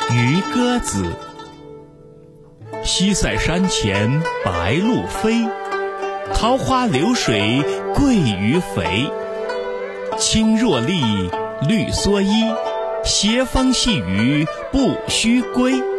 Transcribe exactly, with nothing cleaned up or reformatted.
渔歌子。西塞山前白鹭飞，桃花流水鳜鱼肥。青箬笠，绿蓑衣，斜风细雨不须归。